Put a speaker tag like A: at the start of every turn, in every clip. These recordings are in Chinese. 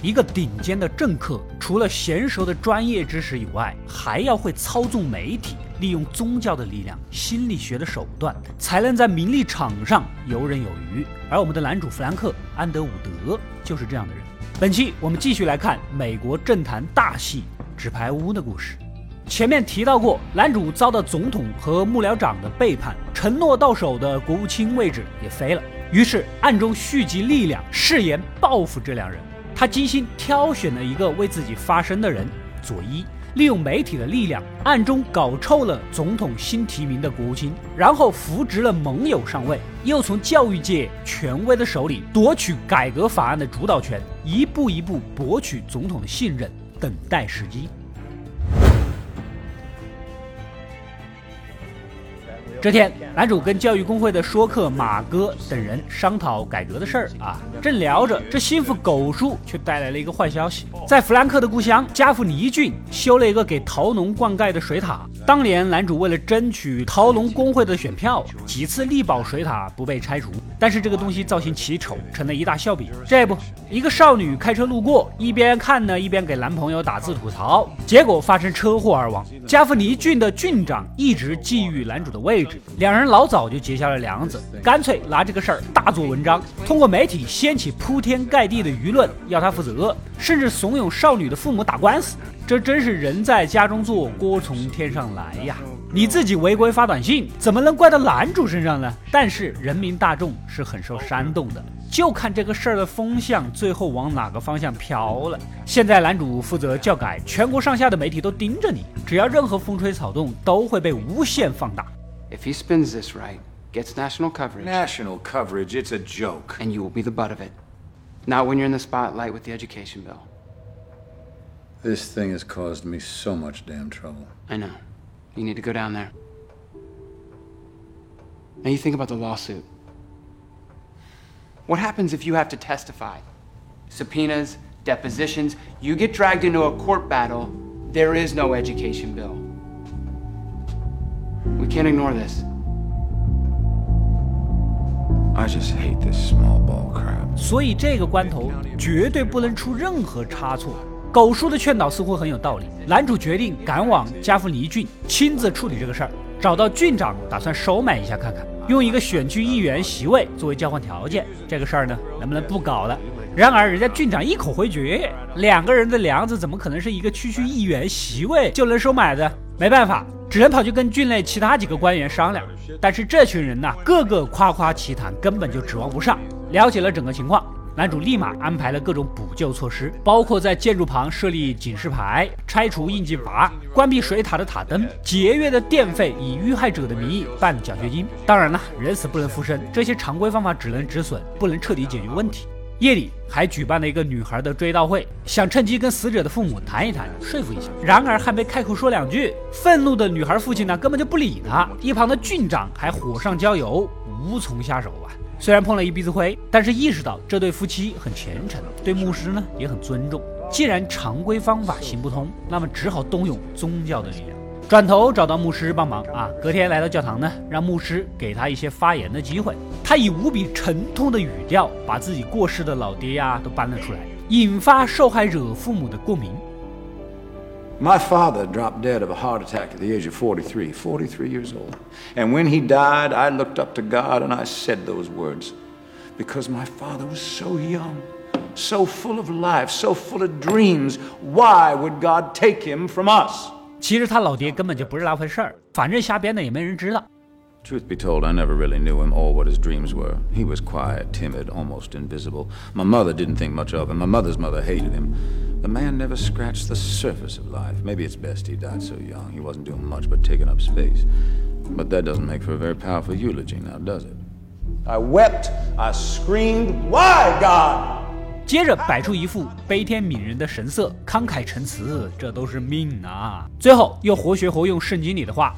A: 一个顶尖的政客，除了娴熟的专业知识以外，还要会操纵媒体，利用宗教的力量、心理学的手段，才能在名利场上游刃有余。而我们的男主弗兰克·安德伍德就是这样的人。本期我们继续来看美国政坛大戏《纸牌屋》的故事。前面提到过，男主遭到总统和幕僚长的背叛，承诺到手的国务卿位置也飞了，于是暗中蓄积力量，誓言报复这两人。他精心挑选了一个为自己发声的人佐伊，利用媒体的力量，暗中搞臭了总统新提名的国务卿，然后扶植了盟友上位，又从教育界权威的手里夺取改革法案的主导权，一步一步博取总统的信任，等待时机。这天，男主跟教育工会的说客马哥等人商讨改革的事儿正聊着，这心腹狗叔却带来了一个坏消息。在弗兰克的故乡加夫尼郡修了一个给陶农灌溉的水塔。当年男主为了争取陶农工会的选票，几次力保水塔不被拆除，但是这个东西造型奇丑，成了一大笑柄。这不，一个少女开车路过，一边看呢，一边给男朋友打字吐槽，结果发生车祸而亡。加夫尼郡的郡长一直觊觎男主的位置，两人老早就结下了梁子，干脆拿这个事儿大做文章，通过媒体掀起铺天盖地的舆论，要他负责，甚至怂恿少女的父母打官司。这真是人在家中坐，锅从天上来呀！你自己违规发短信，怎么能怪到男主身上呢？但是人民大众是很受煽动的，就看这个事儿的风向最后往哪个方向飘了。现在男主负责教改，全国上下的媒体都盯着你，只要任何风吹草动，都会被无限放大。
B: If he spins this right, gets national coverage.
C: National coverage, it's a joke.
B: And you will be the butt of it. Not when you're in the spotlight with the education bill.
C: This thing has caused me so much damn trouble.
B: I know. You need to go down there. Now you think about the lawsuit. What happens if you have to testify? Subpoenas, depositions, you get dragged into a court battle, there is no education bill. We can't ignore this.
C: I just hate this small ball crap.
A: 所以这个关头绝对不能出任何差错。狗叔的劝导似乎很有道理，男主决定赶往加夫尼郡亲自处理这个事儿，找到郡长打算收买一下看看，用一个选区议员席位作为交换条件，这个事儿呢能不能不搞了？然而人家郡长一口回绝，两个人的梁子怎么可能是一个区议员席位就能收买的？没办法，只能跑去跟郡内其他几个官员商量。但是这群人个个夸夸其谈，根本就指望不上。了解了整个情况，男主立马安排了各种补救措施，包括在建筑旁设立警示牌、拆除应急阀、关闭水塔的塔灯、节约的电费，以遇害者的名义办奖学金。当然了，人死不能复生，这些常规方法只能止损，不能彻底解决问题。夜里还举办了一个女孩的追悼会，想趁机跟死者的父母谈一谈，说服一下。然而还没开口说两句，愤怒的女孩父亲根本就不理他，一旁的郡长还火上浇油，无从下手虽然碰了一鼻子灰，但是意识到这对夫妻很虔诚，对牧师也很尊重。既然常规方法行不通，那么只好动用宗教的力量。转头找到牧师帮忙隔天来到教堂让牧师给他一些发言的机会。他以无比沉痛的语调把自己过世的老爹都搬了出来，引发受害者父母的共鸣。
C: My father dropped dead of a heart attack at the age of 43 years old. And when he died, I looked up to God and I said those words. Because my father was so young, so full of life, so full of dreams, why would God take him from us?
A: 其实他老爹根本就不是那回事儿，反正瞎编的也没人知道。
C: Truth be told, I never really knew him or what his dreams were. He was quiet, timid, almost invisible. My mother didn't think much of him. My mother's mother hated him. The man never scratched the surface of life. Maybe it's best he died so young. He wasn't doing much but taking up space. But that doesn't make for a very powerful eulogy now, does it? I wept, I screamed, why, God?
A: 接着摆出一副悲天悯人的神色，慷慨陈词，这都是命最后又活学活用圣经里的话。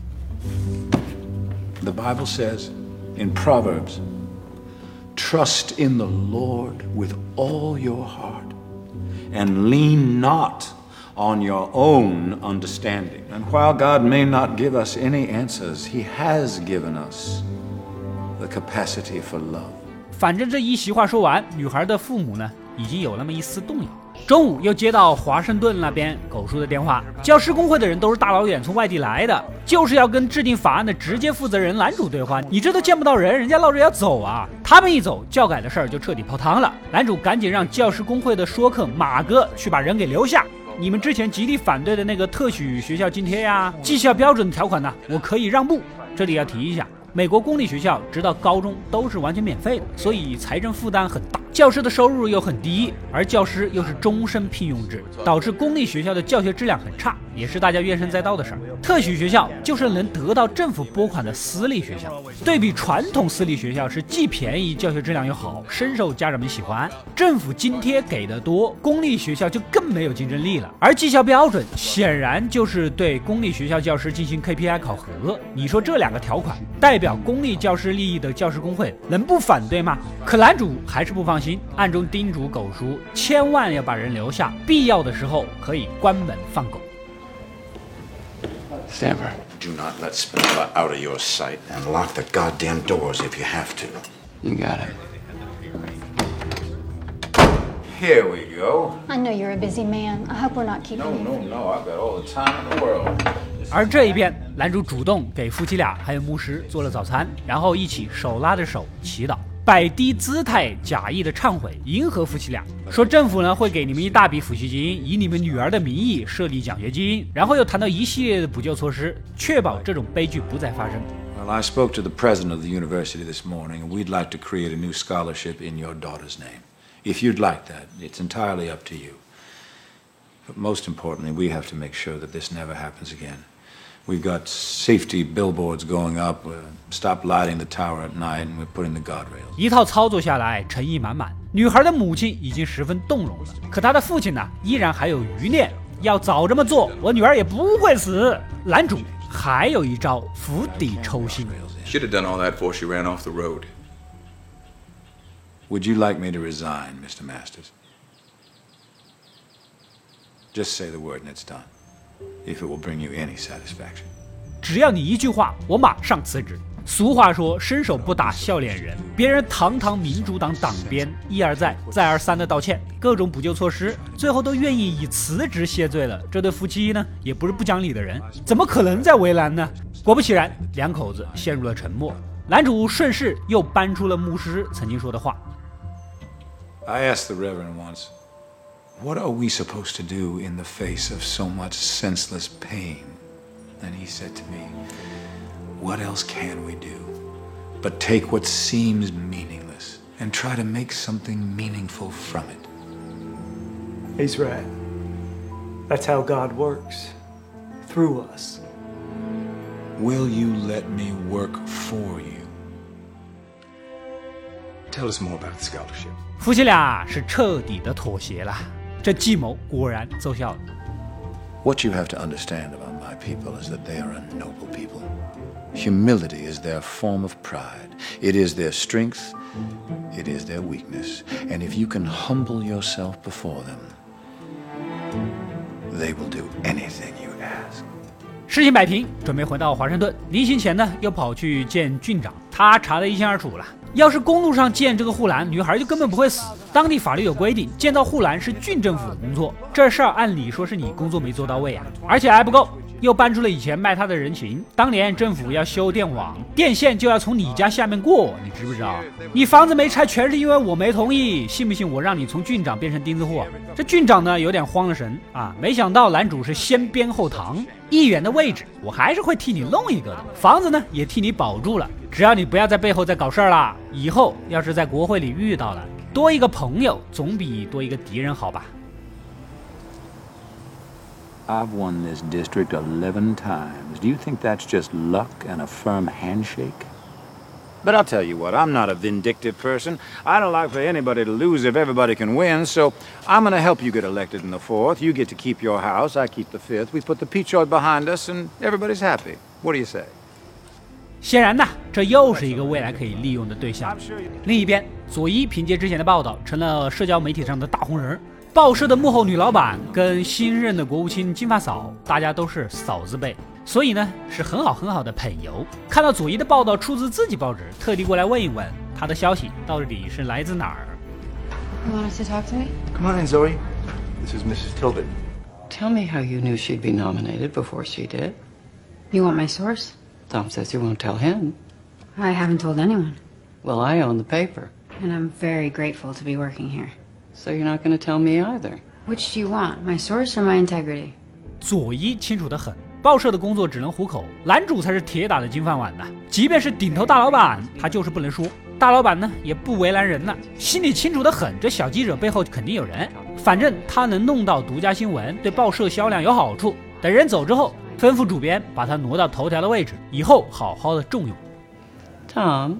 C: The Bible says in Proverbs, trust in the Lord with all your heart and lean not on your own understanding. And while God may not give us any answers, He has given us the capacity for love.
A: 反正这一席话说完，女孩的父母已经有那么一丝动摇。中午又接到华盛顿那边狗叔的电话，教师工会的人都是大老远从外地来的，就是要跟制定法案的直接负责人男主对话。你这都见不到人，人家闹着要走啊！他们一走，教改的事儿就彻底泡汤了。男主赶紧让教师工会的说客马哥去把人给留下。你们之前极力反对的那个特许学校津贴呀、绩效标准条款呢，我可以让步。这里要提一下，美国公立学校直到高中都是完全免费的，所以财政负担很大，教师的收入又很低，而教师又是终身聘用制，导致公立学校的教学质量很差，也是大家怨声载道的事儿。特许学校就是能得到政府拨款的私立学校，对比传统私立学校是既便宜，教学质量又好，深受家长们喜欢。政府津贴给的多，公立学校就更没有竞争力了。而绩效标准显然就是对公立学校教师进行 KPI 考核，你说这两个条款代表公立教师利益的教师工会能不反对吗？可男主还是不放心，暗中叮嘱狗叔千万要把人留下，必要的时候可以关门放狗。
B: Stanford.
C: Do not let Spinella out of your sight, and lock the goddamn doors if you have to.
B: You got it.
C: Here we go.
D: I know you're a busy man. I hope we're not keeping you.
C: No. I've got all the time in the world.
A: 而这一边，男主主动给夫妻俩还有牧师做了早餐，然后一起手拉着手祈祷，摆低姿态，假意的忏悔，迎合夫妻俩，说政府呢会给你们一大笔抚恤金，以你们女儿的名义设立奖学金，然后又谈到一系列的补救措施，确保这种悲剧不再发生。
C: Well, I spoke to the president of the university this morning, and we'd like to create a new scholarship in your daughter's name. If you'd like that, it's entirely up to you. But most importantly, we have to make sure that this never happens again.We've got safety billboards going up. Stop lighting the tower at night, and we're putting the guardrails.
A: 一套操作下来，诚意满满。女孩的母亲已经十分动容了，可她的父亲呢，依然还有余念。要早这么做，我女儿也不会死。男主还有一招釜底抽薪。
E: Should have done all that before she ran off the road.
C: Would you like me to resign, Mr. Masters? Just say the word and it's done.If it will bring you any satisfaction.
A: 只要你一句话，我马上辞职。俗话说，伸手不打笑脸人。别人堂堂民主党党鞭，一而再再而三的道歉，各种补救措施，最后都愿意以辞职谢罪了。这对夫妻呢，也不是不讲理的人，怎么可能再为难呢？果不其然，两口子陷入了沉默。男主顺势又搬出了牧师曾经说的话。
C: I asked the Reverend once.What are we supposed to do in the face of so much senseless pain? And he said to me, what else can we do but take what seems meaningless and try to make something meaningful from it?
F: He's right. That's how God works. Through us.
C: Will you let me work for you?
E: Tell us more about the scholarship.
A: 夫妻俩是彻底的妥协了。这计谋果然奏效了。
C: What you have to understand about my people is that they are a noble people. Humility is their form of pride. It is their strength. It is their weakness. And if you can humble yourself before them, they will do anything you ask.
A: 事情摆平，准备回到华盛顿。临行前呢，又跑去见郡长，他查得一清二楚了。要是公路上见这个护栏，女孩就根本不会死。当地法律有规定，建造护栏是郡政府的工作，这事儿按理说是你工作没做到位啊。而且还不够，又搬出了以前卖他的人情。当年政府要修电网，电线就要从你家下面过，你知不知道？你房子没拆，全是因为我没同意，信不信我让你从郡长变成钉子户？这郡长呢，有点慌了神啊！没想到男主是先鞭后糖，议员的位置我还是会替你弄一个的，房子呢也替你保住了。只要你不要在背后再搞事儿了，以后要是在国会里遇到了，多一个朋友总比多一个敌人好吧。
C: I've won this district 11 times. Do you think that's just luck and a firm handshake? But I'll tell you what, I'm not a vindictive person. I don't like for anybody to lose if everybody can win, so I'm going to help you get elected in the 4th. You get to keep your house, I keep the 5th. We put the Peachoid behind us, and everybody's happy. What do you say?
A: 显然呢，这又是一个未来可以利用的对象。另一边，佐伊凭借之前的报道，成了社交媒体上的大红人。报社的幕后女老板跟新任的国务卿金发嫂，大家都是嫂子辈，所以呢是很好的朋友。看到佐伊的报道出自自己报纸，特地过来问一问他的消息到底是来自哪儿。
G: You want us to talk to me?
E: Come on in, Zoe. This is Mrs. Tilden.
H: Tell me how you knew she'd be nominated before she did.
G: You want my source?
H: Tom says you won't tell him.
G: I haven't told anyone.
H: Well, I own the paper.
G: And I'm very grateful to be working here.
H: So you're not going to tell me either.
G: Which do you want, my source or my integrity?
A: 佐伊清楚得很，报社的工作只能糊口，男主才是铁打的金饭碗呐。即便是顶头大老板，他就是不能说。大老板呢也不为难人了，心里清楚得很，这小记者背后肯定有人。反正他能弄到独家新闻，对报社销量有好处。等人走之后，吩咐主编把他挪到头条的位置，以后好好的重用。
H: Tom,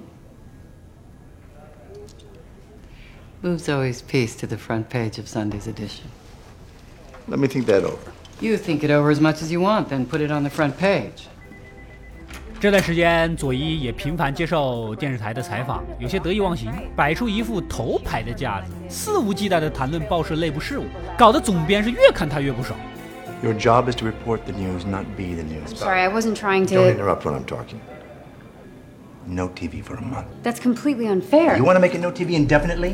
H: move Zoe's piece to the front page of Sunday's edition.
E: Let me think that over.
H: You think it over as much as you want, then put it on the front page.
A: 这段时间，佐伊也频繁接受电视台的采访，有些得意忘形，摆出一副头牌的架子，肆无忌惮地谈论报社内部事务，搞得总编是越看他越不爽。
E: Your job is to report the news, not be the news.
G: Sorry, I wasn't trying to...
E: Don't interrupt when I'm talking. No TV for a month.
G: That's completely unfair.
E: You want to make it no TV indefinitely?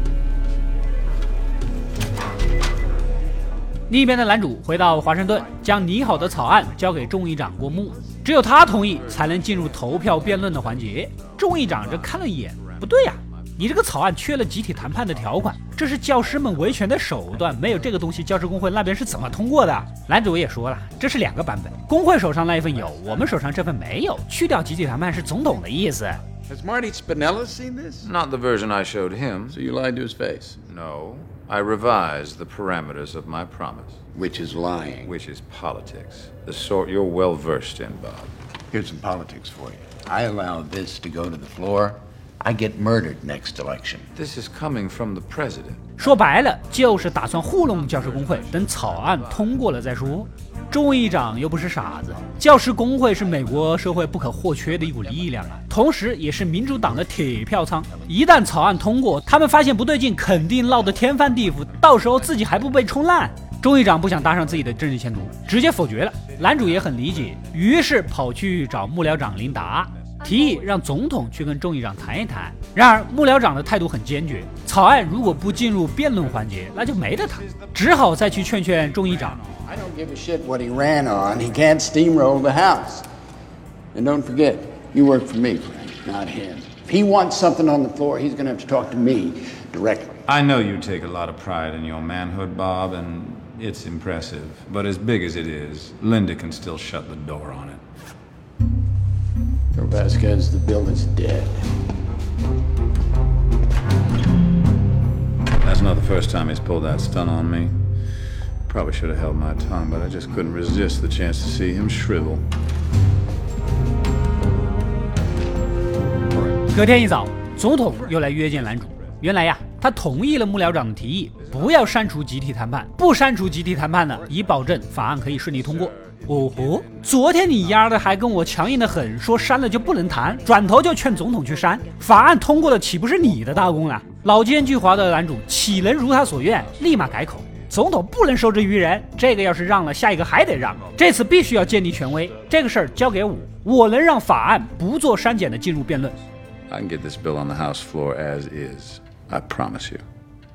A: 另一边的男主回到华盛顿，将拟好的草案交给众议长过目，只有他同意才能进入投票辩论的环节。众议长这看了一眼，不对呀，你这个草案缺了集体谈判的条款，这是教师们维权的手段，没有这个东西，教师工会那边是怎么通过的？男主也说了，这是2个版本，工会手上那一份有，我们手上这份没有，去掉集体谈判是总统的意思。
I: Has Marty Spinella seen this?
C: Not the version I showed him.
I: So you lied to his face?
C: No. I revised the parameters of my promise.
I: Which is lying.
C: Which is politics. The sort you're well versed in, Bob.
I: Here's some politics for you. I allow this to go to the floor. I get murdered next election.
C: This is coming from the president.
A: 说白了，就是打算糊弄教师工会，等草案通过了再说。众议长又不是傻子，教师工会是美国社会不可或缺的一股力量啊，同时也是民主党的铁票仓。一旦草案通过，他们发现不对劲，肯定闹得天翻地覆，到时候自己还不被冲烂。众议长不想搭上自己的政治前途，直接否决了。男主也很理解，于是跑去找幕僚长琳达，提议让总统去跟众议长谈一谈。然而幕僚长的态度很坚决，草案如果不进入辩论环节，那就没得谈，只好再去劝劝众议长。
I: I don't give a shit what he ran on. He can't steamroll the House. And don't forget, you work for me, friend, not him. If he wants something on the floor, he's going to have to talk to me directly.
C: I know you take a lot of pride in your manhood, Bob, and it's impressive. But as big as it is, Linda can still shut the door on it.
I: So Vasquez, the bill is dead.
C: That's not the first time he's pulled that stunt on me. Probably should have held my tongue, but I just couldn't resist the chance to see him shrivel.
A: 隔天一早，总统又来约见男主。原来呀，他同意了幕僚长的提议，不要删除集体谈判，不删除集体谈判呢，以保证法案可以顺利通过。哦吼，昨天你丫的还跟我强硬的很，说删了就不能谈，转头就劝总统去删，法案通过的岂不是你的大功了？老奸巨猾的男主岂能如他所愿，立马改口。总统不能受制于人，这个要是让了，下一个还得让。这次必须要建立权威，这个事儿交给我，我能让法案不做删减的进入辩论。
C: I can get this bill on the House floor as is. I promise you.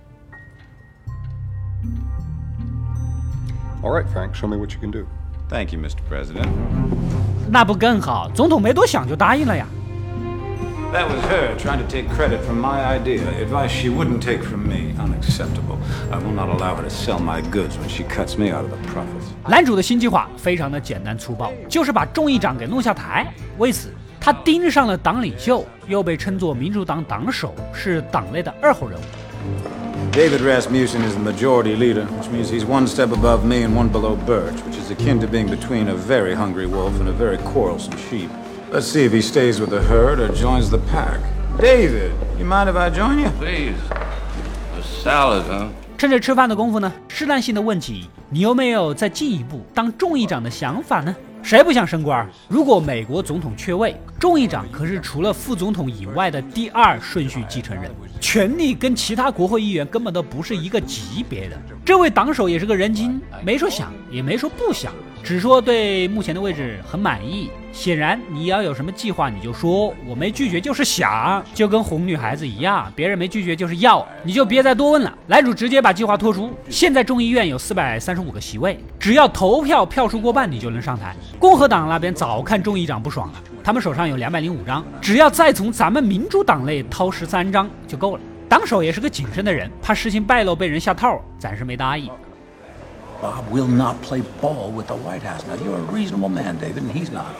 E: All right, Frank, show me what you can do.
C: Thank you, Mr. President.
A: 那不更好？总统没多想就答应了呀。
C: That was her trying to take credit for my idea, advice she wouldn't take from me. Unacceptable. I will not allow her to sell my goods when she cuts me out of the profits.
A: 男主的新计划非常的简单粗暴，就是把众议长给弄下台。为此，他盯上了党领袖，又被称作民主党党首，是党内的2号人物。
C: David Rasmussen is the majority leader, which means he's one step above me and one below Birch, which is akin to being between a very hungry wolf and a very quarrelsome sheep. Let's see if he stays with the herd or joins the pack. David, you mind if I join you?
J: Please. A salad, huh?
A: 趁着吃饭的功夫呢，试探性的问起你有没有再进一步当众议长的想法呢？谁不想升官？如果美国总统缺位，众议长可是除了副总统以外的第2顺序继承人，权力跟其他国会议员根本都不是一个级别的。这位党首也是个人精，没说想，也没说不想， 只说对目前的位置很满意。显然你要有什么计划你就说，我没拒绝就是想，就跟哄女孩子一样，别人没拒绝就是要，你就别再多问了。男主直接把计划拖出，现在众议院有435个席位，只要投票票数过半你就能上台。共和党那边早看众议长不爽了，他们手上有205张，只要再从咱们民主党内掏13张就够了。党首也是个谨慎的人，怕事情败露被人下套，暂时没答应。
C: Bob will not play ball with the White House. Now, you're a reasonable man, David, and he's not.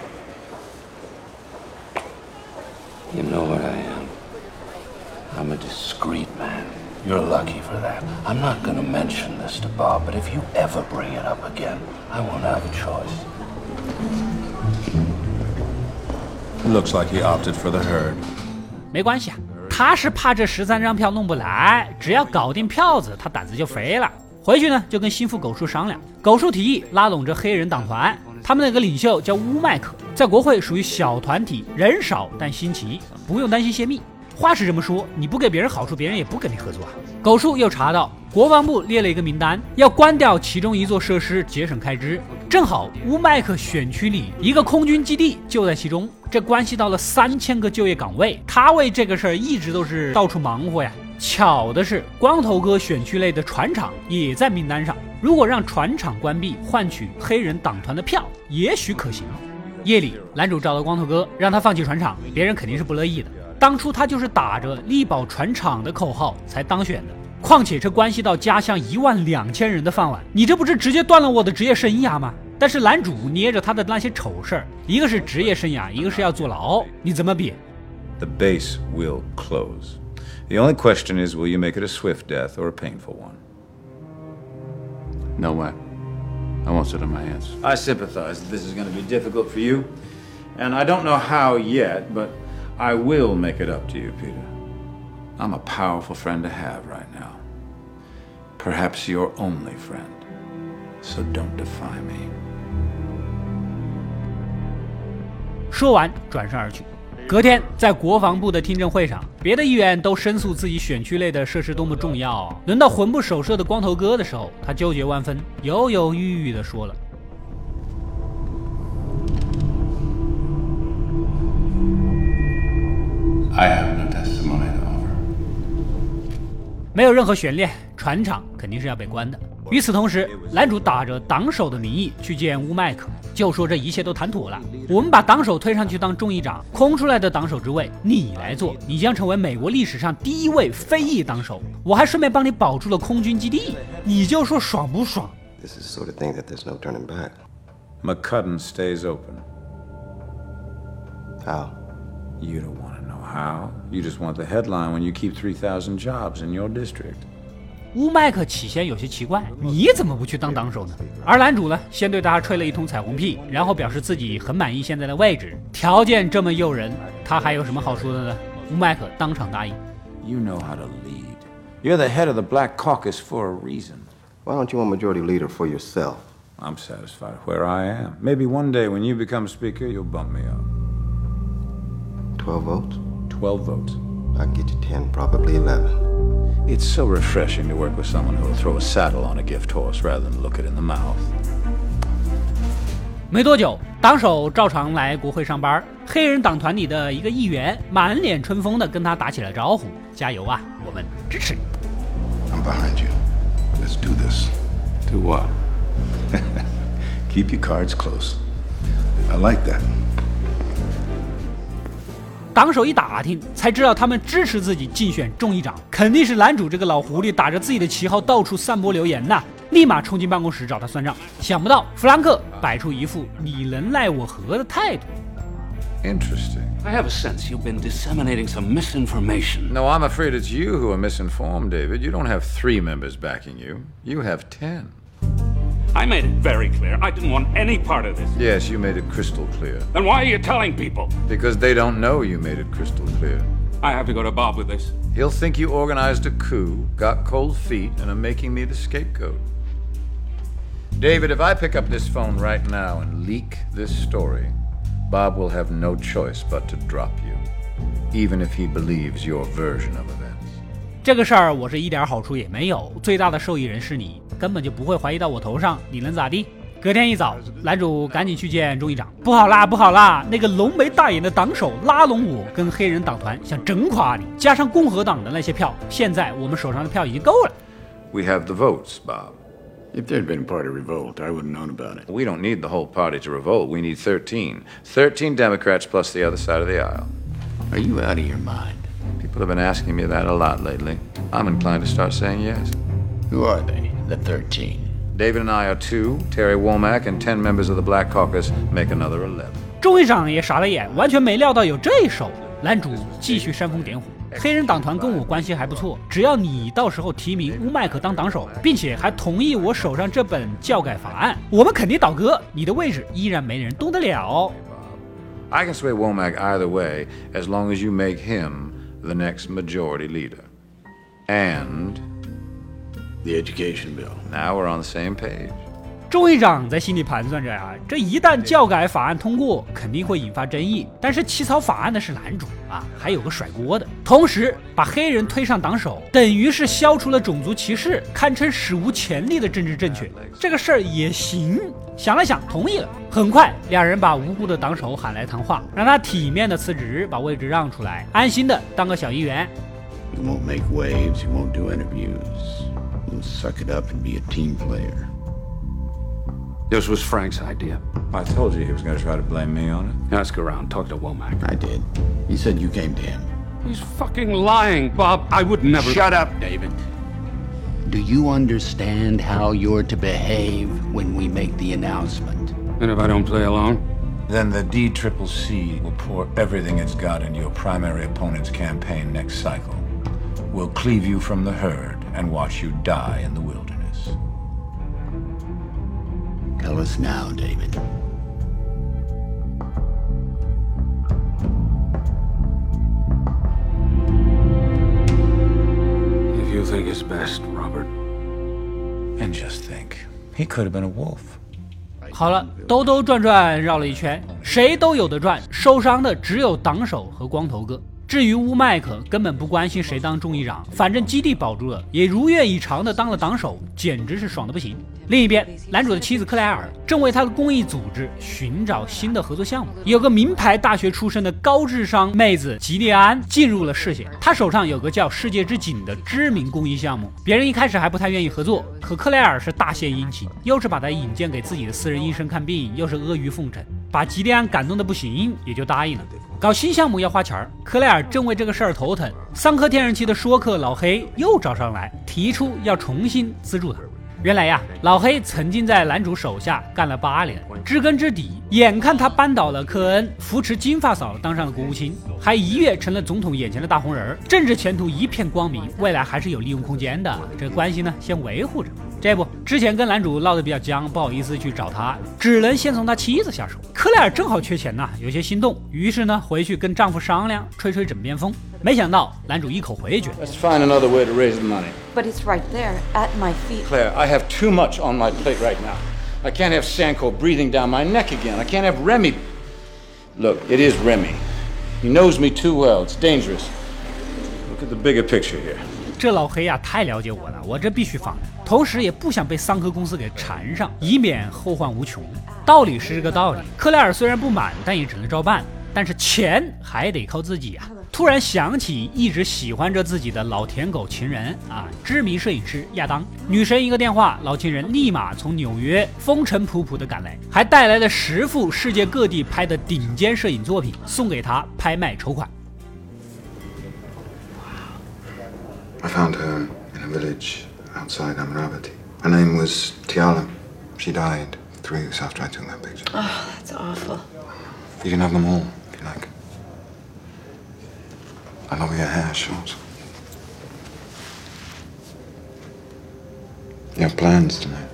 J: You know what I am. I'm a discreet man. You're lucky for that. I'm not going to mention this to Bob, but if you ever bring it up again, I won't have a choice.
C: Looks like he opted for the herd.
A: 没关系啊，他是怕这13张票弄不来，只要搞定票子，他胆子就肥了。回去呢，就跟心腹狗叔商量。狗叔提议拉拢这黑人党团，他们那个领袖叫乌麦克，在国会属于小团体，人少但新奇，不用担心泄密。话是这么说，你不给别人好处，别人也不跟你合作啊。狗叔又查到国防部列了一个名单，要关掉其中一座设施，节省开支。正好乌麦克选区里一个空军基地就在其中，这关系到了3000个就业岗位，他为这个事儿一直都是到处忙活呀。巧的是，光头哥选区内的船厂也在名单上。如果让船厂关闭，换取黑人党团的票，也许可行。夜里，男主找到光头哥，让他放弃船厂，别人肯定是不乐意的。当初他就是打着力保船厂的口号才当选的，况且这关系到家乡12000人的饭碗，你这不是直接断了我的职业生涯吗？但是男主捏着他的那些丑事儿，一个是职业生涯，一个是要坐牢，你怎么比？
C: The base will close. The only question is, will you make it a swift death or a painful one?
J: No way. I won't sit on my hands.
C: I sympathize that this is going to be difficult for you, and I don't know how yet, but I will make it up to you, Peter. I'm a powerful friend to have right now. Perhaps your only friend. So don't defy me.
A: 说完，转身而去。隔天，在国防部的听证会上，别的议员都申诉自己选区内的设施多么重要。轮到魂不守舍的光头哥的时候，他纠结万分，犹犹豫豫地说了
J: I have no testimony to offer.
A: 没有任何悬念，船厂肯定是要被关的。与此同时，男主打着党首的名义去见乌麦克，就说这一切都谈妥了，我们把党首推上去当众议长，空出来的党首之位你来做，你将成为美国历史上第一位非裔党首，我还顺便帮你保住了空军基地，你就说爽不爽？
E: This is the sort of thing that there's no turning back.
C: McCudden stays open.
E: How?
C: You don't want to know how. You just want the headline when you keep 3,000 jobs in your district.
A: 乌麦克起先有些奇怪，你怎么不去当党首呢？而男主呢，先对他吹了一通彩虹屁，然后表示自己很满意现在的位置，条件这么诱人，他还有什么好说的呢？乌麦克当场答应。
C: You know how to lead. You're the head of the Black Caucus for a reason.
E: Why don't you want majority leader for yourself?
C: I'm satisfied where I am. Maybe one day when you become speaker, you'll bump me up.
E: 12 votes?
C: 12 votes.
E: I'll get you 10, probably 11.
C: It's so refreshing to work with someone who'll throw a saddle on a gift horse rather than look it in the mouth.
A: 没多久，党首照常来国会上班，黑人党团里的一个议员满脸春风的跟他打起了招呼：“加油啊，我们支持你。”
J: I'm behind you. Let's do this. Do what?
C: Keep your cards close. I like that.
A: 党首一打听，才知道他们支持自己竞选众议长，肯定是男主这个老狐狸打着自己的旗号到处散播流言呐！立马冲进办公室找他算账。想不到弗兰克摆出一副你能奈我何的态度。
C: Interesting.
J: I have a sense you've been disseminating some misinformation.
C: No, I'm afraid it's you who are misinformed, David. You don't have 3 members backing you. You have 10.
K: I made it very clear I didn't want any part of this.
C: Yes, you made it crystal clear.
K: Then why are you telling people?
C: Because they don't know you made it crystal clear.
K: I have to go to Bob with this.
C: He'll think you organized a coup, got cold feet, and are making me the scapegoat. David, if I pick up this phone right now and leak this story, Bob will have no choice but to drop you, even if he believes your version of events.
A: 这个事儿我是一点好处也没有，最大的受益人是你，根本就不会怀疑到我头上，你能咋地？ 隔天一早，男主赶紧去见众议长。不好啦，不好啦！那个浓眉大眼的党首拉拢我跟黑人党团，想整垮你。加上共和党的那些票，现在我们手上的票已经够了。
C: We have the votes, Bob.
I: If there'd been a party revolt, I wouldn't known about it.
C: We don't need the whole party to revolt. We need 13. 13 Democrats plus the other side of the aisle.
I: Are you out of your mind?
C: People have been asking me that a lot lately. I'm inclined to start saying yes.
I: Who are they, the 13?
C: David and I are 2, Terry Womack and 10 members of the Black Caucus make another 11.
A: 众议长也傻了眼，完全没料到有这一手。男主继续煽风点火，黑人党团跟我关系还不错，只要你到时候提名乌麦克当党首，并且还同意我手上这本教改法案，我们肯定倒戈，你的位置依然没人动得了。
C: I can sway Womack either way as long as you make him the next majority leader. And
I: the education bill.
C: Now we're on the same page.
A: 众议长在心里盘算着啊，这一旦教改法案通过，肯定会引发争议。但是起草法案的是男主啊，还有个甩锅的。同时把黑人推上党首，等于是消除了种族歧视，堪称史无前例的政治正确。这个事儿也行。想了想，同意了。很快，两人把无辜的党首喊来谈话，让他体面的辞职，把位置让出来，安心的当个小议员。
I: You won't make waves. You won't do interviews. You'll suck it up and be a team player.
K: This was Frank's idea.
C: I told you he was going to try to blame me on it.
K: Ask around. Talk to Womack.
I: I did. He said you came to him.
K: He's fucking lying, Bob. I would never...
I: Shut up, David. Do you understand how you're to behave when we make the announcement?
K: And if I don't play along?
C: Then the DCCC will pour everything it's got into your primary opponent's campaign next cycle. We'll cleave you from the herd and watch you die in the wilderness.
I: Tell us now, David.
K: If you think it's best, Robert.
C: And just think, he could have been a wolf.
A: 好了，兜兜转转绕了一圈，谁都有的赚，受伤的只有党首和光头哥。至于乌麦克，根本不关心谁当众议长，反正基地保住了，也如愿以偿的当了党首，简直是爽的不行。另一边，男主的妻子克莱尔正为他的公益组织寻找新的合作项目，有个名牌大学出身的高智商妹子吉利安进入了视线。她手上有个叫世界之井的知名公益项目，别人一开始还不太愿意合作，可克莱尔是大献殷勤，又是把她引荐给自己的私人医生看病，又是阿谀奉承，把吉利安感动的不行，也就答应了。搞新项目要花钱，克莱尔正为这个事儿头疼，桑科天然气的说客老黑又找上来，提出要重新资助他。原来呀，老黑曾经在男主手下干了8年，知根知底，眼看他扳倒了科恩，扶持金发嫂当上了国务卿，还一跃成了总统眼前的大红人，政治前途一片光明，未来还是有利用空间的。这关系呢，先维护着。这不，之前跟男主闹得比较僵，不好意思去找他，只能先从他妻子下手。克莱尔正好缺钱呐，有些心动，于是呢回去跟丈夫商量，吹吹枕边风。没想到男主一口回绝
C: Let's find another way to raise the money.
L: But it's right there, at my feet.
C: Claire, I have too much on my plate right now. I can't have Sanko breathing down my neck again. I can't have Remy... Look, it is Remy. He knows me too well. It's dangerous. Look at the bigger picture here.
A: 这老黑呀，太了解我了，我这必须放。同时也不想被桑科公司给缠上，以免后患无穷。道理是这个道理，克莱尔虽然不满，但也只能照办。但是钱还得靠自己啊！突然想起一直喜欢着自己的老舔狗情人啊，知名摄影师亚当。女神一个电话，老情人立马从纽约风尘仆仆的赶来，还带来了10幅世界各地拍的顶尖摄影作品，送给他拍卖筹款。
E: I found her in a village outside Amravati. Her name was Tiala. She died 3 weeks after I took that picture.
L: Oh, that's awful.
E: You can have them all, if you like. I love your hair short. You have plans tonight?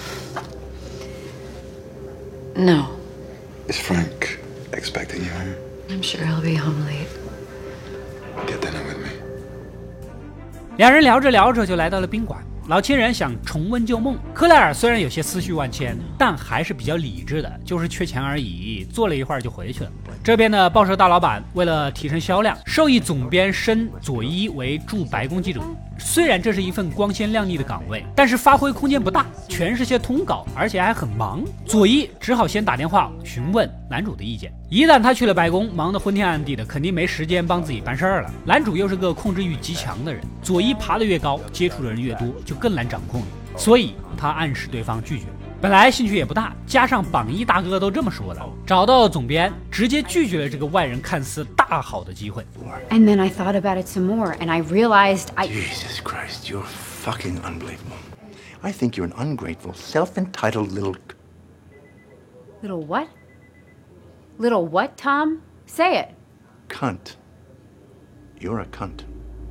L: No.
E: Is Frank expecting you home?
L: I'm sure he'll be home late.
E: Get dinner with me.
A: 两人聊着聊着就来到了宾馆。 老情人想重温旧梦。克莱尔虽然有些思绪万千，但还是比较理智的，就是缺钱而已，坐了一会儿就回去了。这边的报社大老板为了提升销量，授意总编升佐伊为驻白宫记者。虽然这是一份光鲜亮丽的岗位，但是发挥空间不大，全是些通稿，而且还很忙。佐伊只好先打电话询问男主的意见。一旦他去了白宫，忙得昏天暗地的，肯定没时间帮自己办事儿了。男主又是个控制欲极强的人，佐伊爬得越高，接触的人越多，就更难掌控了。所以他暗示对方拒绝。本来兴趣也不大，加上榜一大哥都这么说了，找到总编，直接拒绝了这个外人看似大好的机会。
G: And then I thought about it some more, and I realized
J: Jesus Christ, you're fucking unbelievable. I think you're an ungrateful, self-entitled little...
G: Little what? Little what, Tom? Say it.
J: cunt. You're a cunt.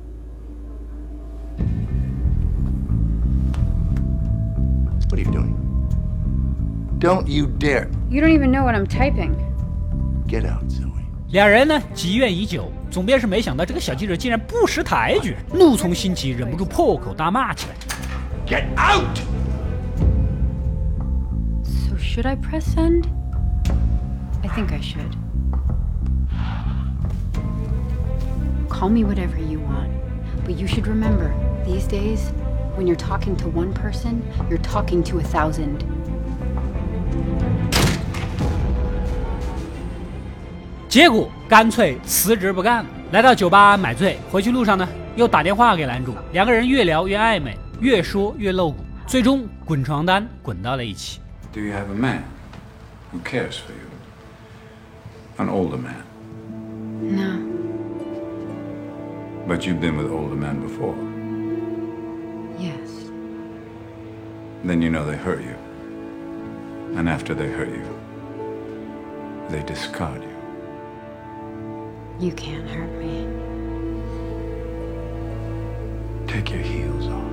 J: What are you doing? Don't you dare.
G: You don't even know what I'm typing.
J: Get out, Zoe.
A: 两人呢积怨已久，总编是没想到这个小记者竟然不识抬举，怒从心起，忍不住破口大骂起来。
J: Get out!
G: So should I press send? I think I should. Call me whatever you want, but you should remember, these days, when you're talking to one person, you're talking to 1,000.
A: 结果干脆辞职不干了，来到酒吧买醉，回去路上呢又打电话给男主，两个人越聊越暧昧，越说越露骨，最终滚床单滚到了一起。
C: Do you have a man who cares for you? An older man?
G: No.
C: But you've been with older men before.
G: Yes.
C: Then you know they hurt you. And after they hurt you, they discard you.
G: You can't hurt me.
C: Take your heels off.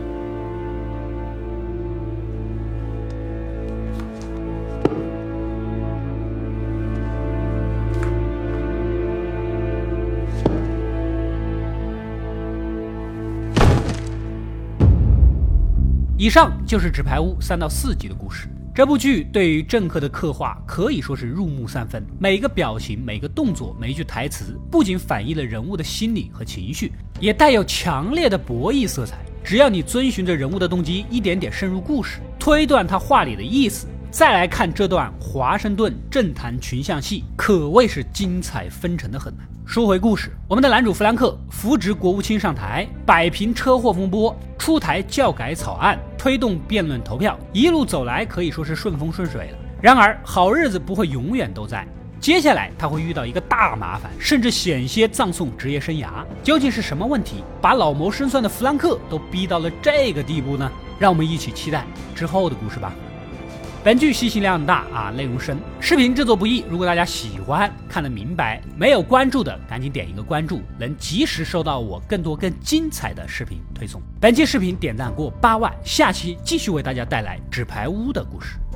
A: 《以上就是《纸牌屋》3到4集的故事。这部剧对于政客的刻画可以说是入木三分，每个表情、每个动作、每一句台词，不仅反映了人物的心理和情绪，也带有强烈的博弈色彩。只要你遵循着人物的动机，一点点深入故事，推断他话里的意思，再来看这段华盛顿政坛群像戏，可谓是精彩纷呈的很。说回故事，我们的男主弗兰克扶植国务卿上台，摆平车祸风波，出台教改草案，推动辩论投票，一路走来可以说是顺风顺水了。然而好日子不会永远都在，接下来他会遇到一个大麻烦，甚至险些葬送职业生涯。究竟是什么问题把老谋深算的弗兰克都逼到了这个地步呢？让我们一起期待之后的故事吧。本剧信息量大啊，内容深，视频制作不易。如果大家喜欢看得明白，没有关注的赶紧点一个关注，能及时收到我更多更精彩的视频推送。本期视频点赞过8万，下期继续为大家带来纸牌屋的故事。